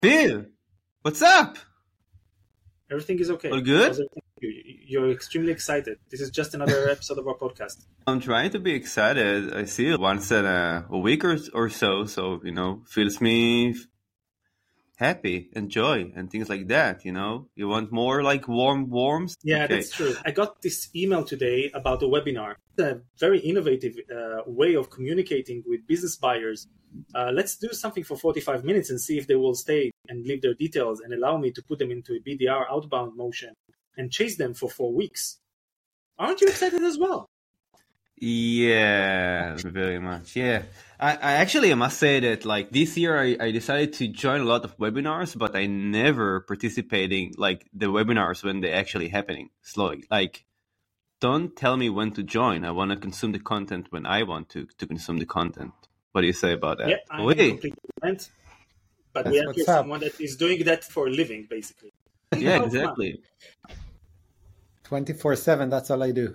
Bill, what's up? Everything is okay. All good? You're extremely excited. This is just another episode of our podcast. I'm trying to be excited. I see it once in a week or so, fills me happy and joy and things like that, You want more like warms? Yeah, Okay. that's true. I got this email today about a webinar. A very innovative way of communicating with business buyers. Let's do something for 45 minutes and see if they will stay and leave their details and allow me to put them into a BDR outbound motion and chase them for 4 weeks. Aren't you excited as well? Yeah, very much. Yeah. I must say that like this year I decided to join a lot of webinars, but I never participating like the webinars when they're actually happening slowly. Like, don't tell me when to join. I want to consume the content when I want to consume the content. What do you say about that? Yeah, I'm in complete agreement. But we have here someone that is doing that for a living, basically. Yeah, exactly. 24/7, that's all I do.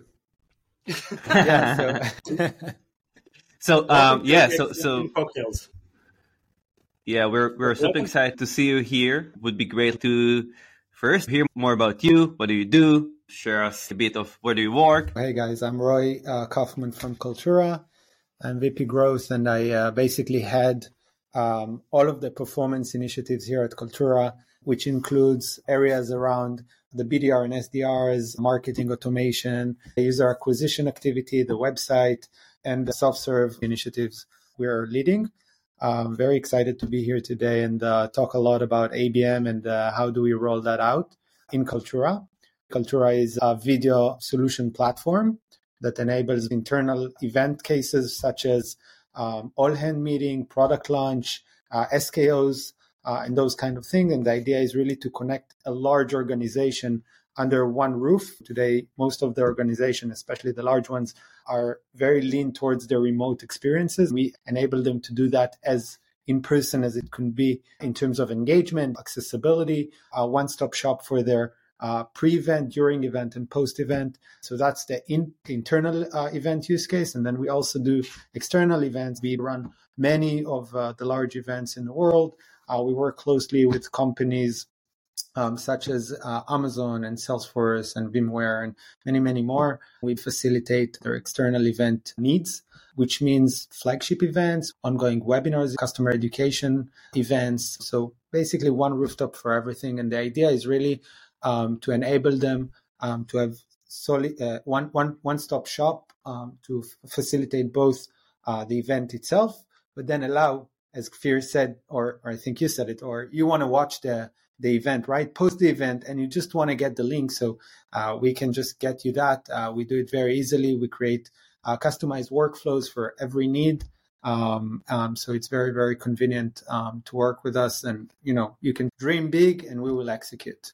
Cocktails. Yeah, we're super excited to see you here. Would be great to first hear more about you. What do you do? Share us a bit of where do you work. Hey guys, I'm Roy Kaufman from Kaltura. I'm VP Growth, and I basically had all of the performance initiatives here at Kaltura, which includes areas around the BDR and SDRs, marketing automation, user acquisition activity, the website, and the self-serve initiatives we're leading. I'm very excited to be here today and talk a lot about ABM and how do we roll that out in Kaltura. Kaltura is a video solution platform that enables internal event cases such as all-hand meeting, product launch, SKOs, and those kind of things. And the idea is really to connect a large organization under one roof. Today, most of the organization, especially the large ones, are very lean towards their remote experiences. We enable them to do that as in person as it can be in terms of engagement, accessibility, a one-stop shop for their pre-event, during event, and post-event. So that's the internal event use case. And then we also do external events. We run many of the large events in the world. We work closely with companies such as Amazon and Salesforce and VMware and many, many more. We facilitate their external event needs, which means flagship events, ongoing webinars, customer education events. So basically one rooftop for everything. And the idea is really to enable them to have one-stop shop to facilitate both the event itself, but then allow, as Kfir said, or I think you said it, or you want to watch the event, right? Post the event, and you just want to get the link. So we can just get you that. We do it very easily. We create customized workflows for every need. So it's very, very convenient to work with us. And, you can dream big and we will execute.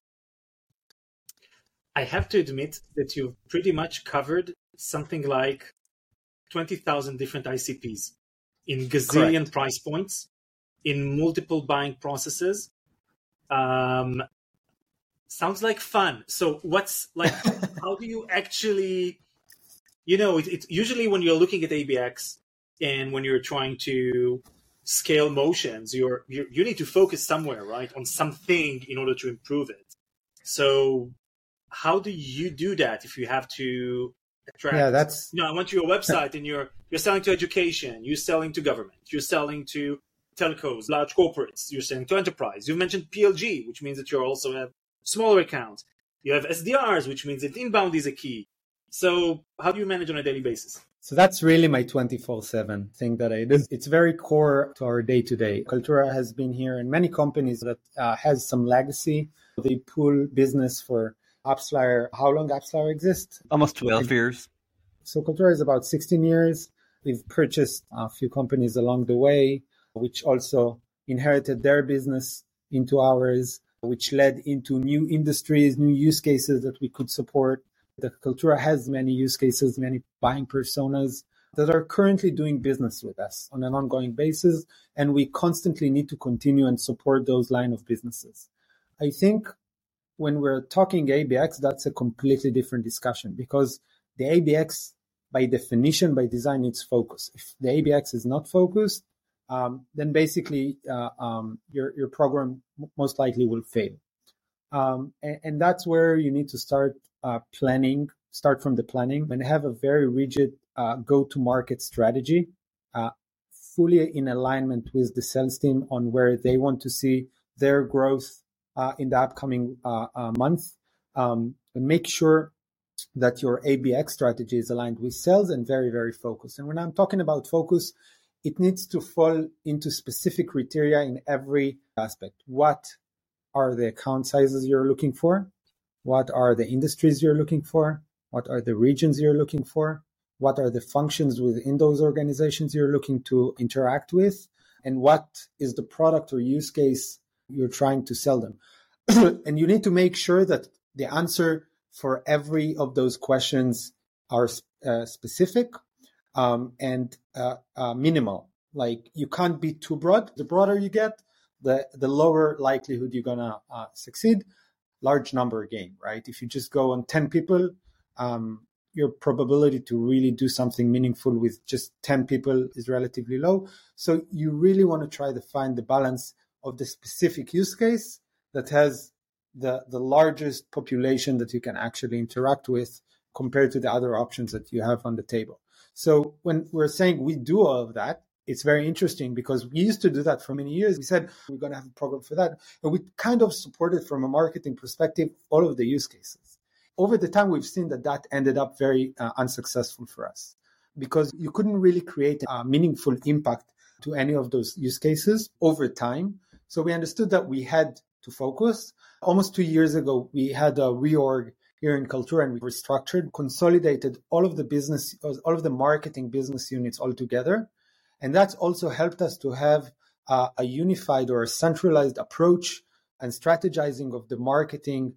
I have to admit that you've pretty much covered something like 20,000 different ICPs in gazillion Correct. price points, in multiple buying processes. Sounds like fun. So what's like, how do you actually, it's usually when you're looking at ABX and when you're trying to scale motions, you need to focus somewhere, right? On something in order to improve it. So how do you do that if you have to attract? Yeah, that's. I went to your website and you're selling to education, you're selling to government, you're selling to telcos, large corporates, you're selling to enterprise. You mentioned PLG, which means that you also have smaller accounts. You have SDRs, which means that inbound is a key. So how do you manage on a daily basis? So that's really my 24/7 thing that I do. It's very core to our day-to-day. Kaltura has been here in many companies that has some legacy. They pull business for AppsFlyer. How long AppsFlyer exists? Almost 12 years. So Kaltura is about 16 years. We've purchased a few companies along the way, which also inherited their business into ours, which led into new industries, new use cases that we could support. The Kaltura has many use cases, many buying personas that are currently doing business with us on an ongoing basis, and we constantly need to continue and support those line of businesses. I think when we're talking ABX, that's a completely different discussion because the ABX, by definition, by design, needs focus. If the ABX is not focused, then basically your program most likely will fail. And that's where you need to start planning, start from the planning, and have a very rigid go-to-market strategy, fully in alignment with the sales team on where they want to see their growth in the upcoming month. And make sure that your ABX strategy is aligned with sales and very, very focused. And when I'm talking about focus, it needs to fall into specific criteria in every aspect. What are the account sizes you're looking for? What are the industries you're looking for? What are the regions you're looking for? What are the functions within those organizations you're looking to interact with? And what is the product or use case you're trying to sell them? And you need to make sure that the answer for every of those questions are specific and minimal. Like, you can't be too broad. The broader you get, the lower likelihood you're gonna succeed. Large number game, right? If you just go on 10 people, your probability to really do something meaningful with just 10 people is relatively low. So you really want to try to find the balance of the specific use case that has the largest population that you can actually interact with compared to the other options that you have on the table. So when we're saying we do all of that, it's very interesting because we used to do that for many years. We said we're going to have a program for that. And we kind of supported from a marketing perspective all of the use cases. Over the time, we've seen that ended up very unsuccessful for us because you couldn't really create a meaningful impact to any of those use cases over time. So we understood that we had to focus. Almost 2 years ago, we had a reorg here in Kaltura, and we restructured, consolidated all of the marketing business units all together. And that's also helped us to have a unified or a centralized approach and strategizing of the marketing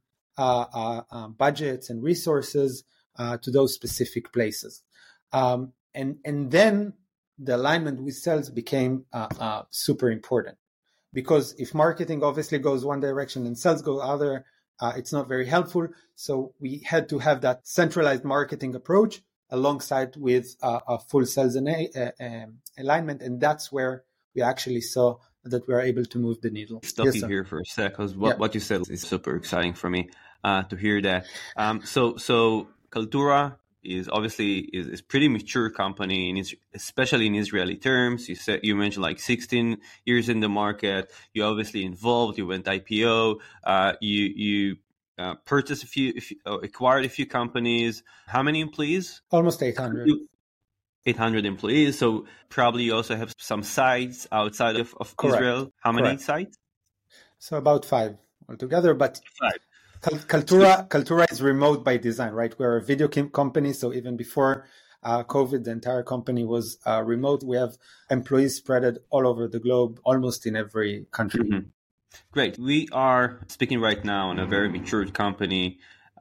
budgets and resources to those specific places. And then the alignment with sales became super important. Because if marketing obviously goes one direction and sales go other, it's not very helpful. So we had to have that centralized marketing approach alongside with a full sales alignment. And that's where we actually saw that we are able to move the needle. Stop you here for a sec, because what you said is super exciting for me to hear that. So Kaltura is obviously is pretty mature company, especially in Israeli terms. You mentioned like 16 years in the market. You're obviously involved. You went IPO. You purchased acquired a few companies. How many employees? Almost 800. 800 employees. So probably you also have some sites outside of Israel. How many sites? So about 5 altogether, but 5. Kaltura is remote by design, right? We're a video company, so even before COVID, the entire company was remote. We have employees spread all over the globe, almost in every country. Mm-hmm. Great. We are speaking right now on a very mature company,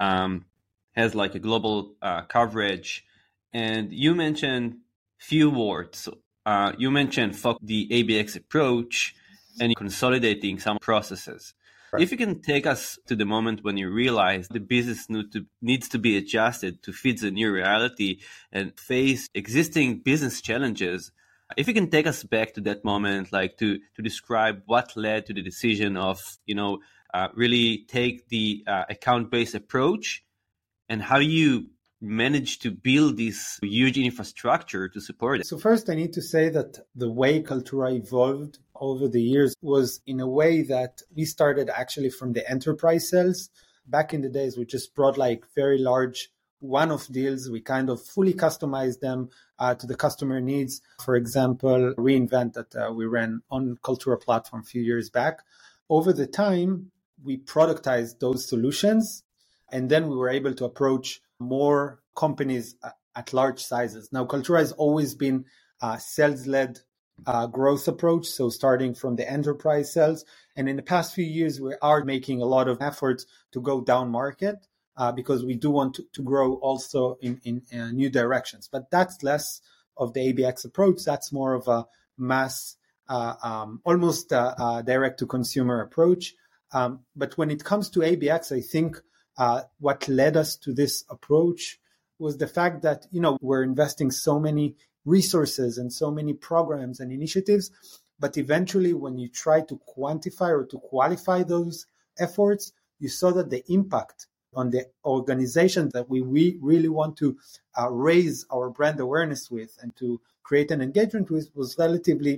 has like a global coverage. And you mentioned few words. You mentioned the ABX approach and consolidating some processes. Right. If you can take us to the moment when you realize the business needs to be adjusted to fit the new reality and face existing business challenges, if you can take us back to that moment, like to describe what led to the decision of, really take the account-based approach, and how you manage to build this huge infrastructure to support it. So first, I need to say that the way Kaltura evolved over the years was in a way that we started actually from the enterprise sales. Back in the days, we just brought like very large one-off deals. We kind of fully customized them to the customer needs. For example, reInvent that we ran on Kaltura platform a few years back. Over the time, we productized those solutions, and then we were able to approach more companies at large sizes. Now, Kaltura has always been a sales-led growth approach, so starting from the enterprise sales. And in the past few years, we are making a lot of efforts to go down market because we do want to grow also in new directions. But that's less of the ABX approach. That's more of a mass, almost direct-to-consumer approach. But when it comes to ABX, I think what led us to this approach was the fact that, we're investing so many resources and so many programs and initiatives. But eventually, when you try to quantify or to qualify those efforts, you saw that the impact on the organization that we really want to raise our brand awareness with and to create an engagement with was relatively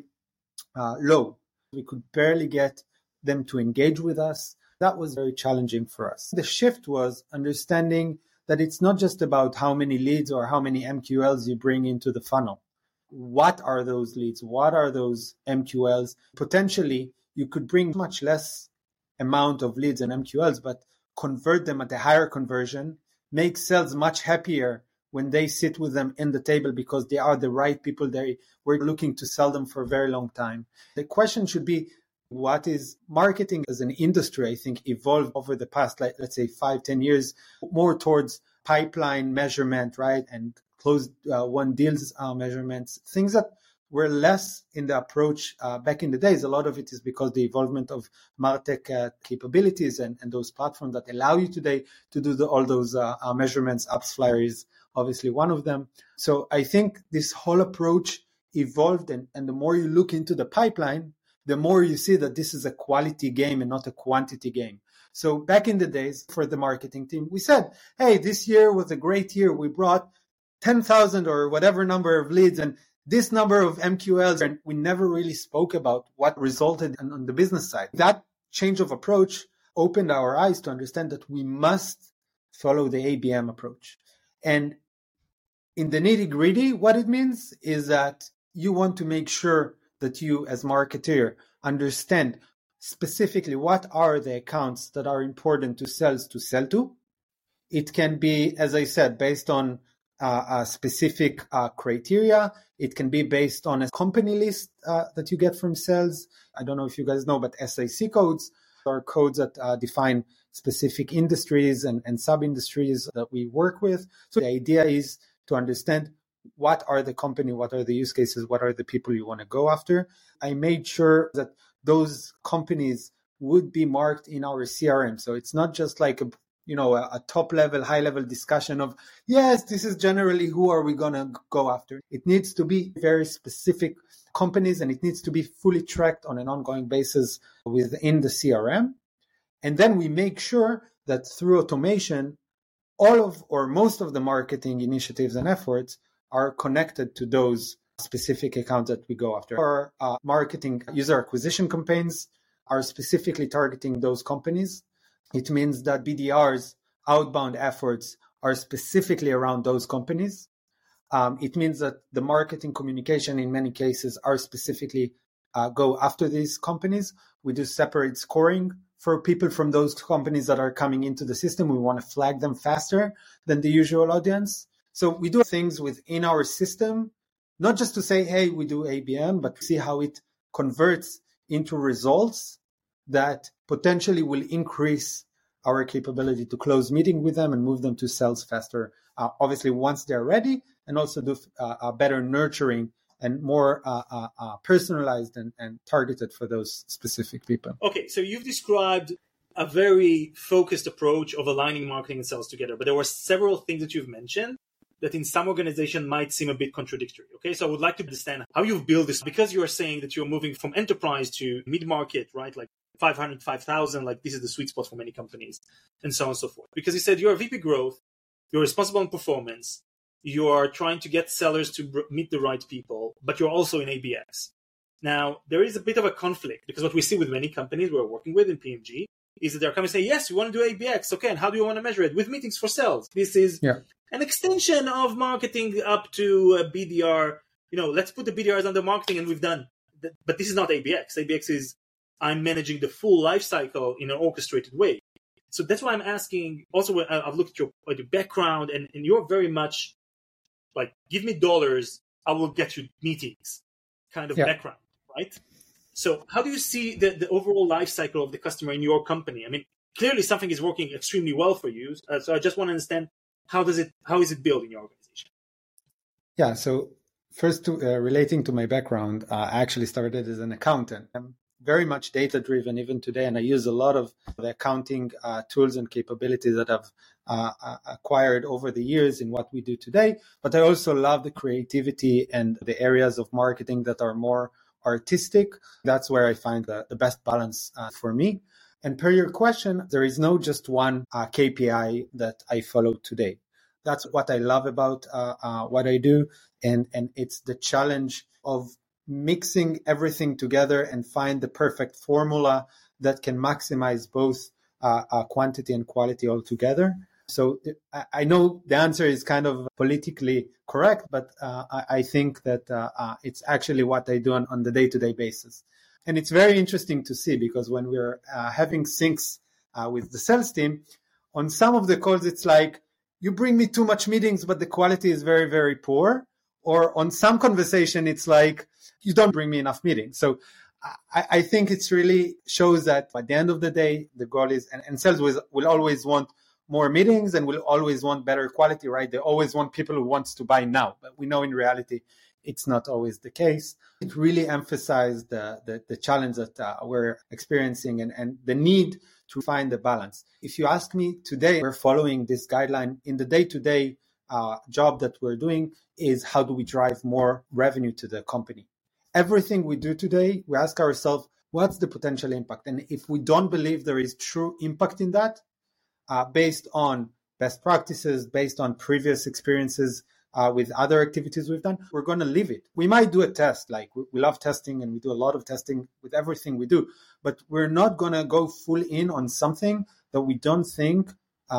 low. We could barely get them to engage with us. That was very challenging for us. The shift was understanding that it's not just about how many leads or how many MQLs you bring into the funnel. What are those leads? What are those MQLs? Potentially, you could bring much less amount of leads and MQLs, but convert them at a higher conversion, make sales much happier when they sit with them in the table because they are the right people. We're looking to sell them for a very long time. The question should be, what is marketing as an industry, I think, evolved over the past, let's say 5-10 years, more towards pipeline measurement, right? And closed won deals measurements, things that were less in the approach back in the days. A lot of it is because the evolvement of MarTech capabilities and those platforms that allow you today to do all those measurements. AppsFlyer is obviously one of them. So I think this whole approach evolved, and the more you look into the pipeline, the more you see that this is a quality game and not a quantity game. So back in the days for the marketing team, we said, hey, this year was a great year. We brought 10,000 or whatever number of leads and this number of MQLs, and we never really spoke about what resulted on the business side. That change of approach opened our eyes to understand that we must follow the ABM approach. And in the nitty-gritty, what it means is that you want to make sure that you, as marketer, understand specifically what are the accounts that are important to sales to sell to. It can be, as I said, based on a specific criteria. It can be based on a company list that you get from sales. I don't know if you guys know, but SIC codes are codes that define specific industries and sub-industries that we work with. So the idea is to understand what are the company, what are the use cases, what are the people you want to go after. I made sure that those companies would be marked in our CRM. So it's not just like a top level, high level discussion of, yes, this is generally who are we going to go after. It needs to be very specific companies, and it needs to be fully tracked on an ongoing basis within the CRM. And then we make sure that through automation, all of or most of the marketing initiatives and efforts are connected to those specific accounts that we go after. Our marketing user acquisition campaigns are specifically targeting those companies. It means that BDR's outbound efforts are specifically around those companies. It means that the marketing communication in many cases are specifically go after these companies. We do separate scoring for people from those companies that are coming into the system. We want to flag them faster than the usual audience. So we do things within our system, not just to say, hey, we do ABM, but see how it converts into results that potentially will increase our capability to close meeting with them and move them to sales faster. Obviously, once they're ready, and also do better nurturing and more personalized and targeted for those specific people. Okay, so you've described a very focused approach of aligning marketing and sales together, but there were several things that you've mentioned that in some organization might seem a bit contradictory. Okay, so I would like to understand how you've built this, because you are saying that you're moving from enterprise to mid-market, right? Like 500, 5,000, like this is the sweet spot for many companies, and so on and so forth. Because you said you're a VP growth, you're responsible on performance, you are trying to get sellers to meet the right people, but you're also in ABX. Now, there is a bit of a conflict, because what we see with many companies we're working with in PMG is that they're coming and say, yes, we want to do ABX. Okay, and how do you want to measure it? With meetings for sales. This is an extension of marketing up to BDR. Let's put the BDRs under marketing and we've done. But this is not ABX. ABX is I'm managing the full life cycle in an orchestrated way. So that's why I'm asking. Also, I've looked at your background, and you're very much like, give me dollars, I will get you meetings kind of background, right? So how do you see the overall life cycle of the customer in your company? I mean, clearly something is working extremely well for you. So I just want to understand how is it built in your organization? Yeah. So first, relating to my background, I actually started as an accountant. very much data driven even today, and I use a lot of the accounting tools and capabilities that I've acquired over the years in what we do today. But I also love the creativity and the areas of marketing that are more artistic. That's where I find the best balance for me. And per your question, there is no just one KPI that I follow today. That's what I love about what I do. And it's the challenge of mixing everything together and find the perfect formula that can maximize both quantity and quality altogether. So I know the answer is kind of politically correct, but I think that it's actually what I do on the day-to-day basis. And it's very interesting to see, because when we're having syncs with the sales team, on some of the calls, it's like, you bring me too much meetings, but the quality is very, very poor. Or on some conversation, it's like, you don't bring me enough meetings. So I think it's really shows that at the end of the day, the goal is, and sales will always want more meetings and will always want better quality, right? They always want people who wants to buy now. But we know in reality, it's not always the case. It really emphasized the challenge that we're experiencing and the need to find the balance. If you ask me today, we're following this guideline in the day-to-day job that we're doing is how do we drive more revenue to the company? Everything we do today, we ask ourselves, what's the potential impact? And if we don't believe there is true impact in that, based on best practices, based on previous experiences with other activities we've done, we're going to leave it. We might do a test, like we love testing and we do a lot of testing with everything we do, but we're not going to go full in on something that we don't think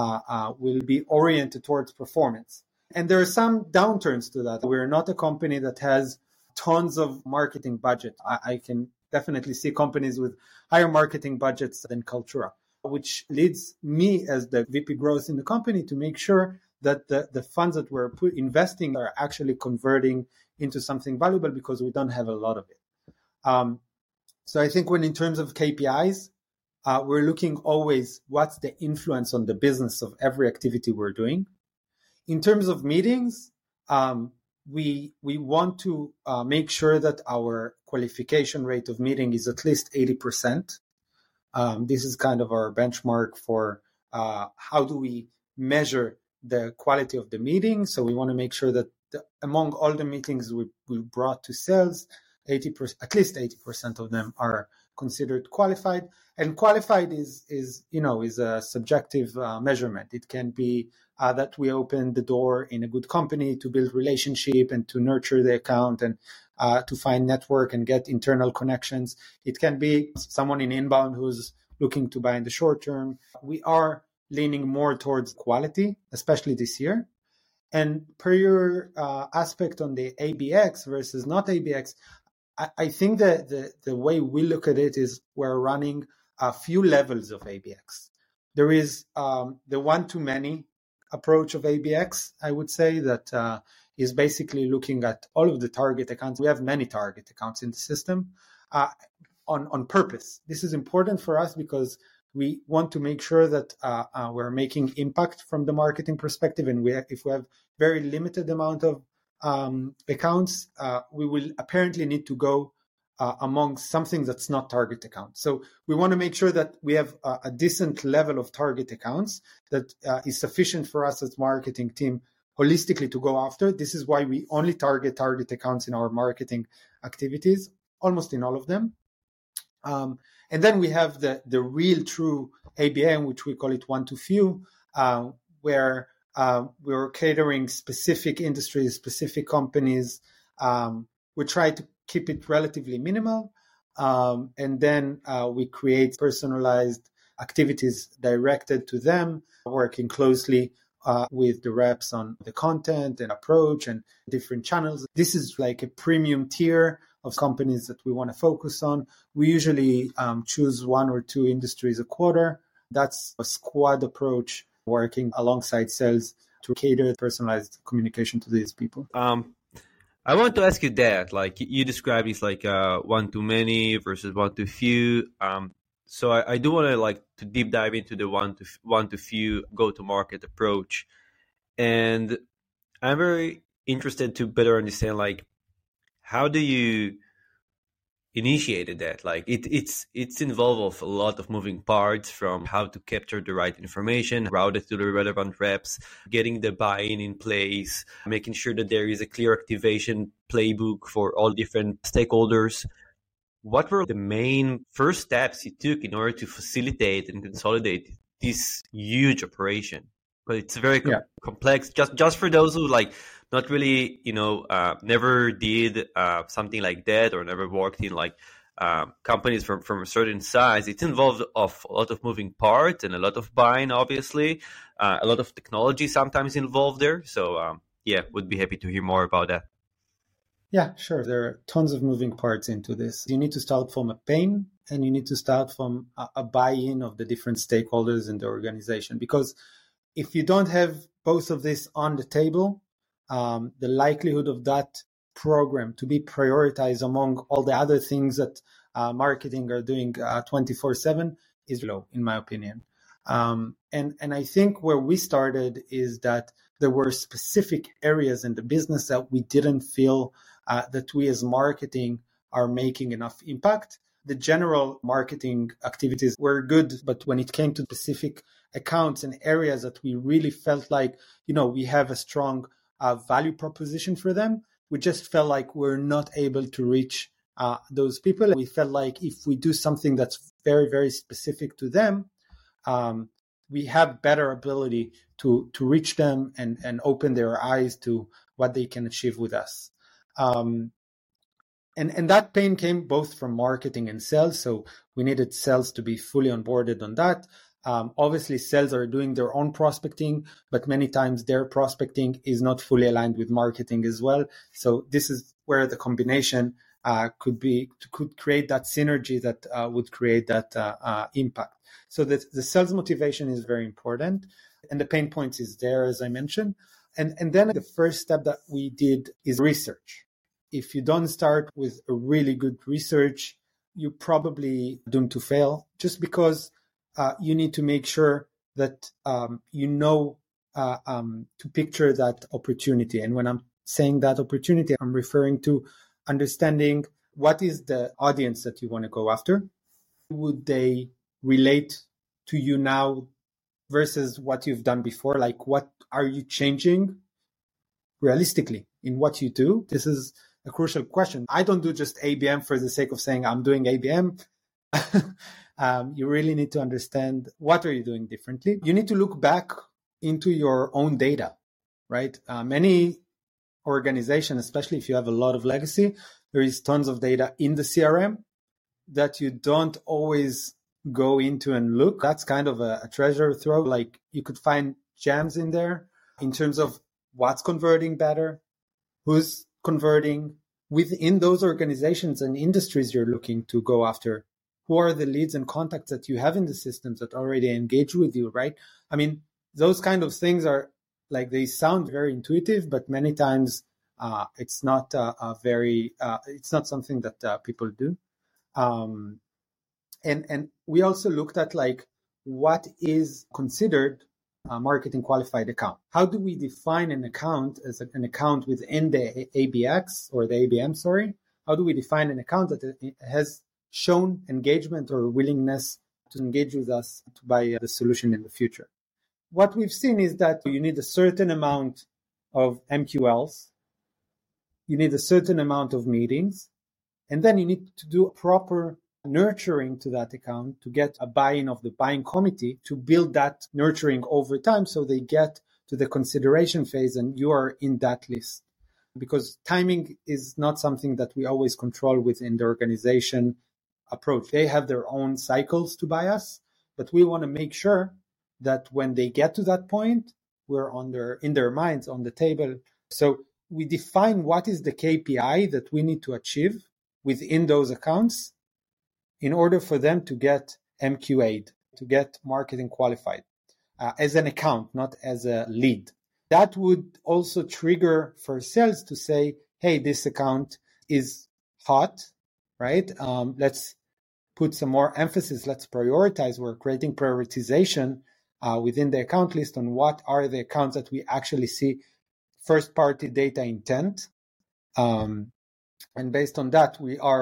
will be oriented towards performance. And there are some downturns to that. We're not a company that has tons of marketing budget. I can definitely see companies with higher marketing budgets than Kaltura, which leads me as the VP growth in the company to make sure that the funds that we're investing are actually converting into something valuable, because we don't have a lot of it. So I think when in terms of KPIs, we're looking always what's the influence on the business of every activity we're doing. In terms of meetings, we want to make sure that our qualification rate of meeting is at least 80%. This is kind of our benchmark for how do we measure the quality of the meeting. So we want to make sure that among all the meetings we brought to sales, 80%, at least 80% of them are considered qualified. And qualified is a subjective measurement. It can be that we open the door in a good company to build relationship and to nurture the account and to find network and get internal connections. It can be someone in inbound who's looking to buy in the short term. We are leaning more towards quality, especially this year. And per your aspect on the ABX versus not ABX, I think that the way we look at it is we're running a few levels of ABX. There is the one-to-many approach of ABX, I would say, that is basically looking at all of the target accounts. We have many target accounts in the system on purpose. This is important for us because we want to make sure that we're making impact from the marketing perspective. And if we have very limited amount of accounts, we will apparently need to go among something that's not target accounts. So we want to make sure that we have a decent level of target accounts that is sufficient for us as marketing team holistically to go after. This is why we only target accounts in our marketing activities, almost in all of them. And then we have the real true ABM, which we call it one-to-few, where we're catering specific industries, specific companies. We try to keep it relatively minimal. And then we create personalized activities directed to them, working closely with the reps on the content and approach and different channels. This is like a premium tier of companies that we want to focus on. We usually choose one or two industries a quarter. That's a squad approach, working alongside sales to cater personalized communication to these people. I want to ask you that, like you described it's like one-to-many versus one-to-few. So I do want to deep dive into the one-to-few go-to-market approach. And I'm very interested to better understand, like, how do you, initiated that. Like it's involved of a lot of moving parts, from how to capture the right information, route it to the relevant reps, getting the buy-in in place, making sure that there is a clear activation playbook for all different stakeholders. What were the main first steps you took in order to facilitate and consolidate this huge operation? But it's very complex. Just for those who like not really, never did something like that, or never worked in like companies from a certain size. It's involved of a lot of moving parts and a lot of buying, obviously, a lot of technology sometimes involved there. So would be happy to hear more about that. Yeah, sure. There are tons of moving parts into this. You need to start from a pain, and you need to start from a buy-in of the different stakeholders in the organization. Because if you don't have both of this on the table, the likelihood of that program to be prioritized among all the other things that marketing are doing 24/7 is low, in my opinion. And I think where we started is that there were specific areas in the business that we didn't feel that we as marketing are making enough impact. The general marketing activities were good, but when it came to specific accounts and areas that we really felt like, we have a strong value proposition for them, we just felt like we're not able to reach those people. We felt like if we do something that's very, very specific to them, we have better ability to reach them and open their eyes to what they can achieve with us. And that pain came both from marketing and sales. So we needed sales to be fully onboarded on that. Obviously, sales are doing their own prospecting, but many times their prospecting is not fully aligned with marketing as well. So this is where the combination could create that synergy that would create that impact. So the sales motivation is very important, and the pain points is there, as I mentioned. And then the first step that we did is research. If you don't start with a really good research, you're probably doomed to fail, just because you need to make sure that to picture that opportunity. And when I'm saying that opportunity, I'm referring to understanding what is the audience that you want to go after. Would they relate to you now versus what you've done before? Like, what are you changing realistically in what you do? This is a crucial question. I don't do just ABM for the sake of saying I'm doing ABM. You really need to understand what are you doing differently. You need to look back into your own data, right? Many organizations, especially if you have a lot of legacy, there is tons of data in the CRM that you don't always go into and look. That's kind of a treasure trove. Like, you could find gems in there in terms of what's converting better, who's converting within those organizations and industries you're looking to go after. Who are the leads and contacts that you have in the systems that already engage with you, right? I mean, those kind of things are like, they sound very intuitive, but many times it's not it's not something that people do. And we also looked at like what is considered a marketing qualified account. How do we define an account as an account within the ABX or the ABM? Sorry, how do we define an account that has shown engagement or willingness to engage with us to buy the solution in the future? What we've seen is that you need a certain amount of MQLs, you need a certain amount of meetings, and then you need to do proper nurturing to that account to get a buy-in of the buying committee to build that nurturing over time so they get to the consideration phase and you are in that list. Because timing is not something that we always control within the organization approach. They have their own cycles to buy us, but we want to make sure that when they get to that point, we're in their minds on the table. So we define what is the KPI that we need to achieve within those accounts in order for them to get MQA'd, to get marketing qualified as an account, not as a lead. That would also trigger for sales to say, hey, this account is hot, right? Let's put some more emphasis. Let's prioritize. We're creating prioritization within the account list on what are the accounts that we actually see first-party data intent. And based on that, we are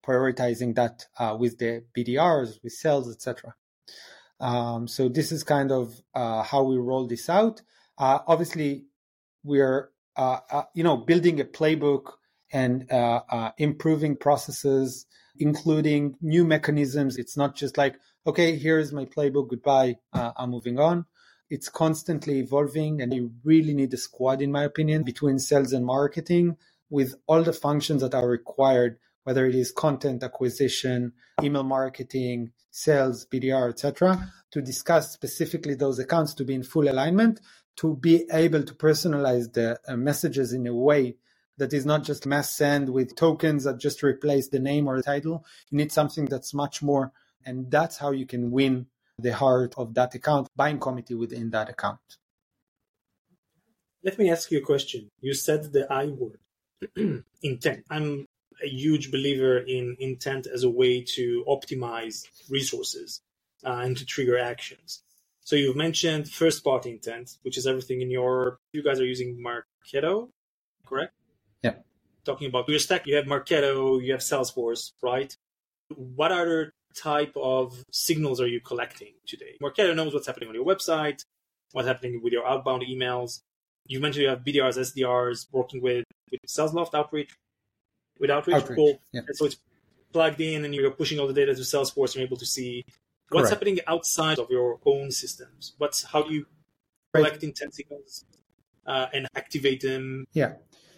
prioritizing that with the BDRs, with sales, etc. So this is kind of how we roll this out. Obviously, we're building a playbook and improving processes, including new mechanisms. It's not just like, okay, here's my playbook, goodbye, I'm moving on. It's constantly evolving, and you really need a squad, in my opinion, between sales and marketing with all the functions that are required, whether it is content acquisition, email marketing, sales, BDR, etc., to discuss specifically those accounts, to be in full alignment, to be able to personalize the messages in a way that is not just mass send with tokens that just replace the name or the title. You need something that's much more, and that's how you can win the heart of that account, buying committee within that account. Let me ask you a question. You said the I word, intent. I'm a huge believer in intent as a way to optimize resources and to trigger actions. So you've mentioned first-party intent, which is everything in you guys are using Marketo, correct? Yeah. Talking about your stack, you have Marketo, you have Salesforce, right? What other type of signals are you collecting today? Marketo knows what's happening on your website, what's happening with your outbound emails. You mentioned you have BDRs, SDRs working with SalesLoft Outreach. With Outreach. Cool. Yeah. So it's plugged in and you're pushing all the data to Salesforce and you're able to see what's happening outside of your own systems. How do you collect intent signals and activate them? Yeah.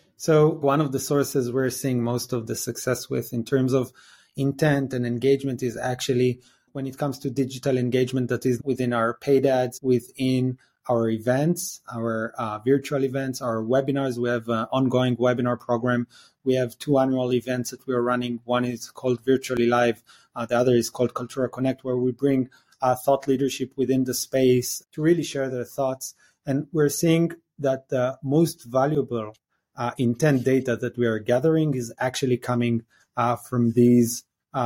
So one of the sources we're seeing most of the success with in terms of intent and engagement is actually when it comes to digital engagement that is within our paid ads, within our events, our virtual events, our webinars. We have an ongoing webinar program. We have 2 annual events that we are running. One is called Virtually Live. The other is called Kaltura Connect, where we bring thought leadership within the space to really share their thoughts. And we're seeing that the most valuable intent data that we are gathering is actually coming from these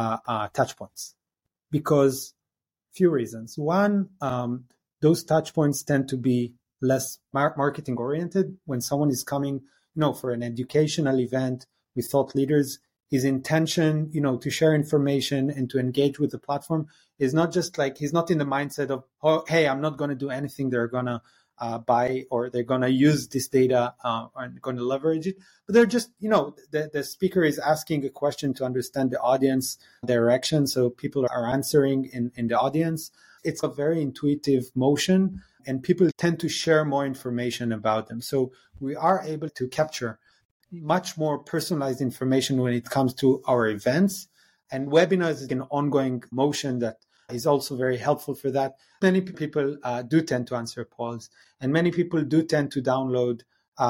touch points, because few reasons. One, those touch points tend to be less marketing oriented. When someone is coming, for an educational event with thought leaders, his intention, to share information and to engage with the platform is not just like, he's not in the mindset of, oh, hey, I'm not going to do anything they're going to buy, or they're going to use this data and going to leverage it. But they're just, the speaker is asking a question to understand the audience direction. So people are answering in the audience. It's a very intuitive motion, and people tend to share more information about them. So we are able to capture much more personalized information when it comes to our events. And webinars is an ongoing motion that is also very helpful for that. Many people do tend to answer polls, and many people do tend to download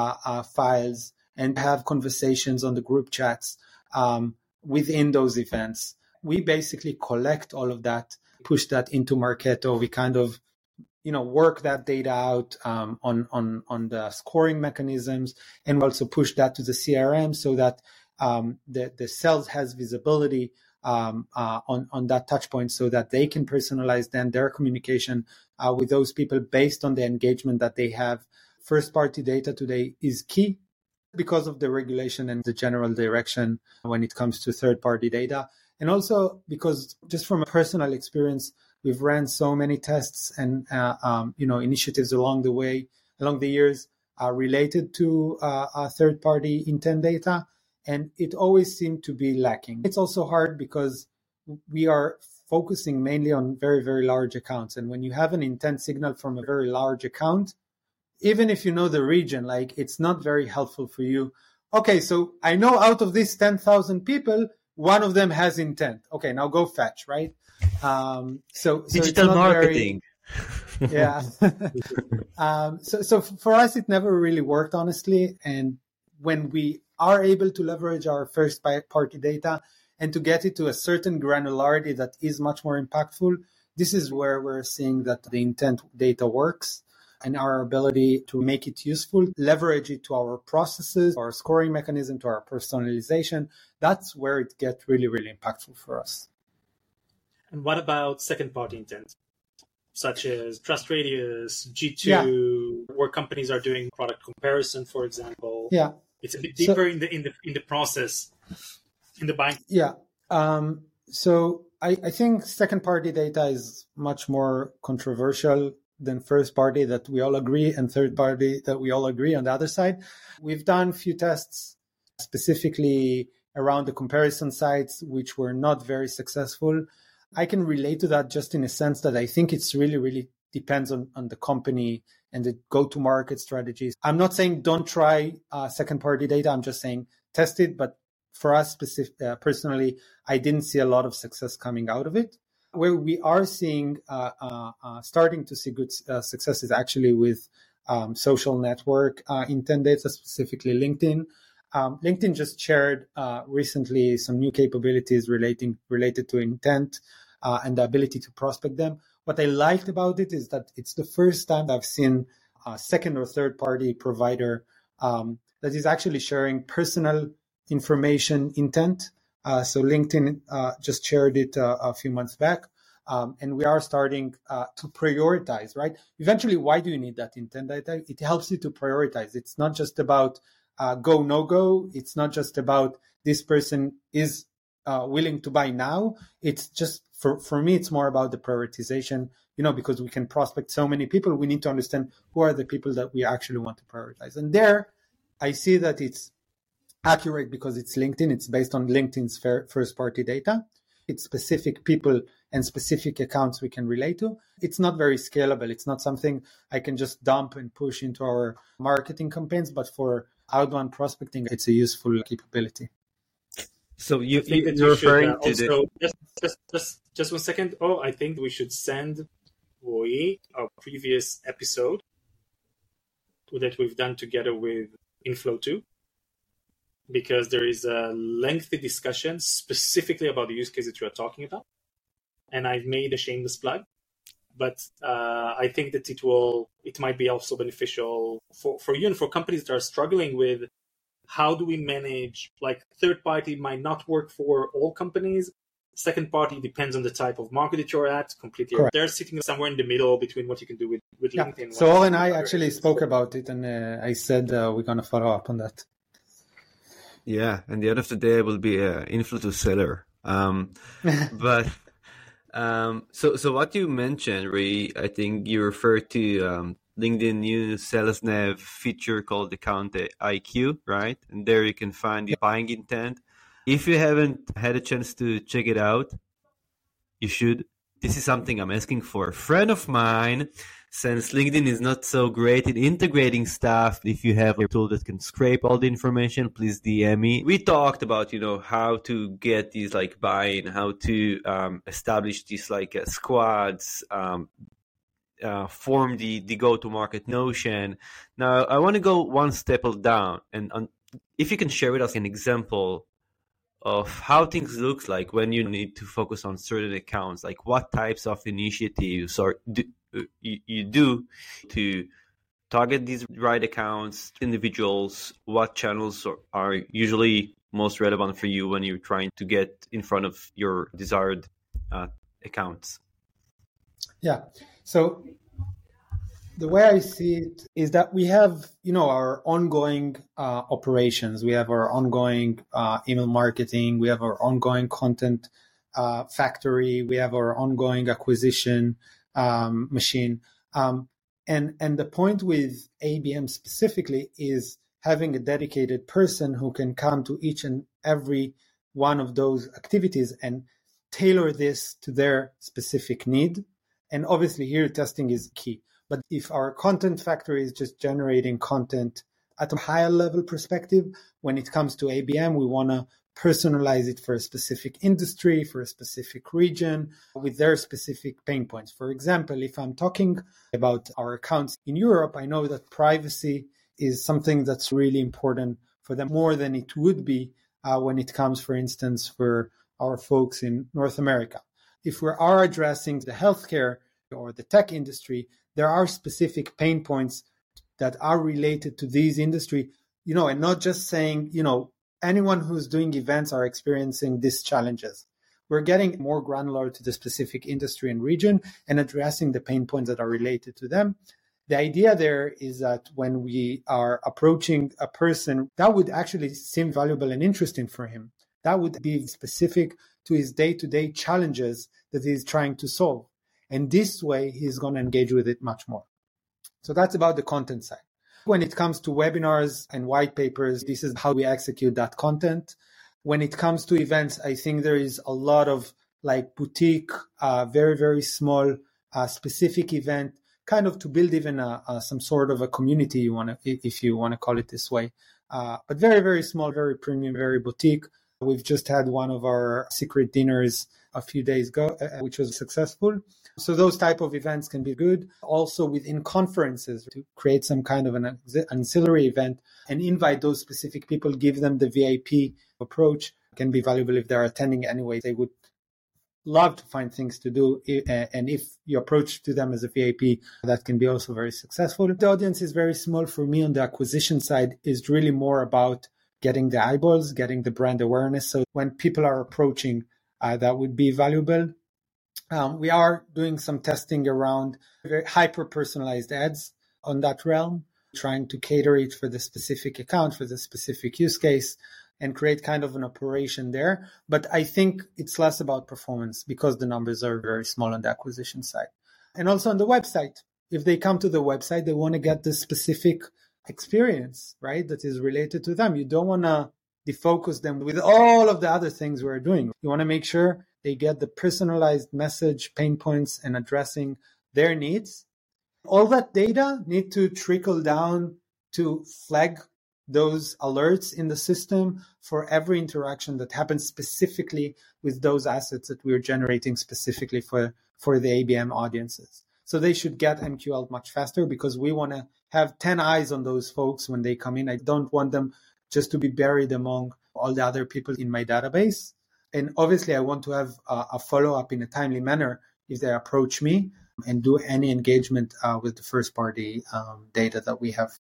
files and have conversations on the group chats within those events. We basically collect all of that, push that into Marketo. We kind of, work that data out on the scoring mechanisms, and also push that to the CRM so that the sales has visibility on that touch point, so that they can personalize then their communication with those people based on the engagement that they have. First party data today is key because of the regulation and the general direction when it comes to third party data. And also because just from a personal experience, we've ran so many tests and initiatives along the years related to third party intent data. And it always seemed to be lacking. It's also hard because we are focusing mainly on very, very large accounts. And when you have an intent signal from a very large account, even if you know the region, it's not very helpful for you. Okay, so I know out of these 10,000 people, one of them has intent. Okay, now go fetch, right? So digital marketing. Yeah. So for us, it never really worked, honestly. And when we are able to leverage our first party data and to get it to a certain granularity that is much more impactful, this is where we're seeing that the intent data works, and our ability to make it useful, leverage it to our processes, our scoring mechanism, to our personalization. That's where it gets really, really impactful for us. And what about second party intent, such as TrustRadius, G2, where companies are doing product comparison, for example? Yeah. It's a bit deeper in the process, in the buying. Yeah. So I think second-party data is much more controversial than first-party that we all agree, and third-party that we all agree on the other side. We've done a few tests specifically around the comparison sites, which were not very successful. I can relate to that just in a sense that I think it's really, really depends on the company and the go-to-market strategies. I'm not saying don't try second-party data. I'm just saying test it. But for us personally, I didn't see a lot of success coming out of it. Where we are seeing, starting to see good success is actually with social network intent data, specifically LinkedIn. LinkedIn just shared recently some new capabilities related to intent and the ability to prospect them. What I liked about it is that it's the first time I've seen a second or third party provider that is actually sharing personal information intent. So LinkedIn just shared it a few months back. And we are starting to prioritize, right? Eventually, why do you need that intent data? It helps you to prioritize. It's not just about go, no go. It's not just about this person is willing to buy now. It's just, for me, it's more about the prioritization, because we can prospect so many people. We need to understand who are the people that we actually want to prioritize. And there, I see that it's accurate because it's LinkedIn. It's based on LinkedIn's first-party data. It's specific people and specific accounts we can relate to. It's not very scalable. It's not something I can just dump and push into our marketing campaigns, but for outbound prospecting, it's a useful capability. So you're referring to just 1 second. I think we should send Roy our previous episode that we've done together with Inflow2, because there is a lengthy discussion specifically about the use case that you are talking about. And I've made a shameless plug, but I think that it might be also beneficial for you and for companies that are struggling with how do we manage, like third party might not work for all companies. Second party depends on the type of market that you're at completely. Correct. They're sitting somewhere in the middle between what you can do with LinkedIn. So Or and I actually spoke about it, and I said we're going to follow up on that. Yeah, and the end of the day will be an Inflow2 seller. But so what you mentioned, Ray, I think you referred to LinkedIn new sales nav feature called Account IQ, right? And there you can find the buying intent. If you haven't had a chance to check it out, you should. This is something I'm asking for a friend of mine, since LinkedIn is not so great in integrating stuff. If you have a tool that can scrape all the information, please DM me. We talked about, how to get these like buy-in, how to establish these like squads, form the go-to-market notion. Now, I want to go one step down, and if you can share with us an example of how things look like when you need to focus on certain accounts, like what types of initiatives you do to target these right accounts, individuals, what channels are usually most relevant for you when you're trying to get in front of your desired accounts. Yeah. So the way I see it is that we have, our ongoing operations. We have our ongoing email marketing. We have our ongoing content factory. We have our ongoing acquisition machine. And the point with ABM specifically is having a dedicated person who can come to each and every one of those activities and tailor this to their specific need. And obviously here testing is key. But if our content factory is just generating content at a higher level perspective, when it comes to ABM, we want to personalize it for a specific industry, for a specific region, with their specific pain points. For example, if I'm talking about our accounts in Europe, I know that privacy is something that's really important for them, more than it would be when it comes, for instance, for our folks in North America. If we are addressing the healthcare or the tech industry, there are specific pain points that are related to these industry, and not just saying, anyone who's doing events are experiencing these challenges. We're getting more granular to the specific industry and region and addressing the pain points that are related to them. The idea there is that when we are approaching a person, that would actually seem valuable and interesting for him. That would be specific to his day-to-day challenges that he's trying to solve. And this way, he's going to engage with it much more. So that's about the content side. When it comes to webinars and white papers, this is how we execute that content. When it comes to events, I think there is a lot of like boutique, very, very small, specific event, kind of to build even some sort of a community, if you want to call it this way. But very, very small, very premium, very boutique. We've just had one of our secret dinners a few days ago, which was successful. So those type of events can be good. Also within conferences, to create some kind of an ancillary event and invite those specific people, give them the VIP approach, can be valuable if they're attending anyway. They would love to find things to do. And if you approach to them as a VIP, that can be also very successful. The audience is very small. For me on the acquisition side is really more about getting the eyeballs, getting the brand awareness. So when people are approaching, that would be valuable. We are doing some testing around very hyper-personalized ads on that realm, trying to cater it for the specific account, for the specific use case, and create kind of an operation there. But I think it's less about performance because the numbers are very small on the acquisition side. And also on the website, if they come to the website, they want to get the specific experience, right, that is related to them. You don't want to defocus them with all of the other things we're doing. You want to make sure they get the personalized message, pain points, and addressing their needs. All that data need to trickle down to flag those alerts in the system for every interaction that happens specifically with those assets that we're generating specifically for the ABM audiences. So they should get MQL much faster because we want to have 10 eyes on those folks when they come in. I don't want them just to be buried among all the other people in my database. And obviously, I want to have a follow-up in a timely manner if they approach me and do any engagement with the first-party data that we have.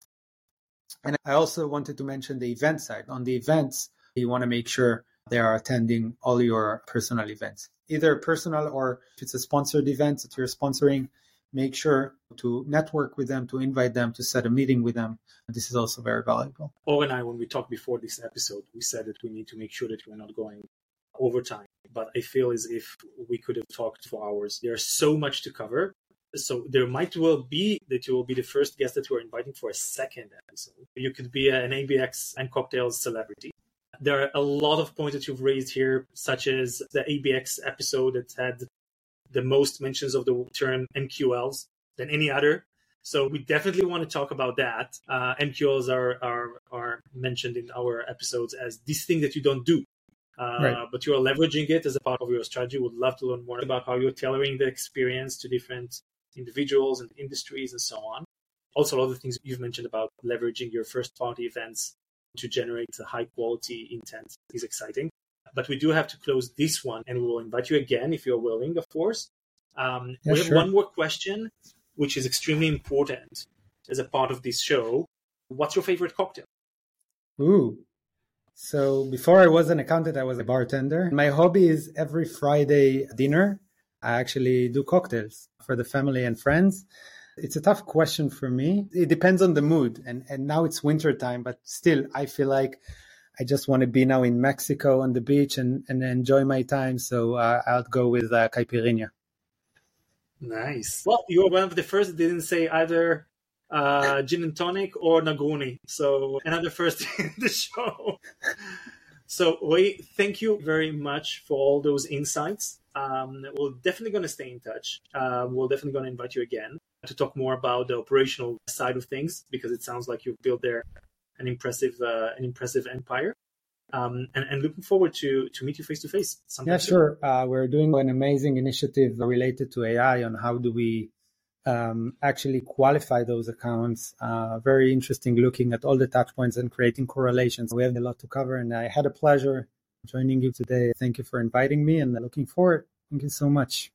And I also wanted to mention the event side. On the events, you want to make sure they are attending all your personal events, either personal or if it's a sponsored event that you're sponsoring, make sure to network with them, to invite them, to set a meeting with them. This is also very valuable. Or and I, when we talked before this episode, we said that we need to make sure that we're not going overtime. But I feel as if we could have talked for hours. There's so much to cover. So there might well be that you will be the first guest that we're inviting for a second episode. You could be an ABX and cocktails celebrity. There are a lot of points that you've raised here, such as the ABX episode that had the most mentions of the term MQLs than any other. So we definitely want to talk about that. MQLs are mentioned in our episodes as this thing that you don't do. Right. But you are leveraging it as a part of your strategy. Would love to learn more about how you're tailoring the experience to different individuals and industries and so on. Also, a lot of the things you've mentioned about leveraging your first-party events to generate a high-quality intent is exciting. But we do have to close this one, and we will invite you again if you're willing, of course. We have one more question, which is extremely important as a part of this show. What's your favorite cocktail? Ooh. So before I was an accountant, I was a bartender. My hobby is every Friday dinner. I actually do cocktails for the family and friends. It's a tough question for me. It depends on the mood. And now it's winter time, but still, I feel like I just want to be now in Mexico on the beach and enjoy my time. So I'll go with caipirinha. Nice. Well, you're one of the first that didn't say either gin and tonic or Negroni. So another first in the show. So Roy, thank you very much for all those insights. We're definitely going to stay in touch. We're definitely going to invite you again to talk more about the operational side of things, because it sounds like you've built there an impressive empire. And looking forward to meet you face to face. Yeah, sure. We're doing an amazing initiative related to AI on how do we actually qualify those accounts. Very interesting, looking at all the touch points and creating correlations. We have a lot to cover, and I had a pleasure joining you today. Thank you for inviting me, and looking forward. Thank you so much.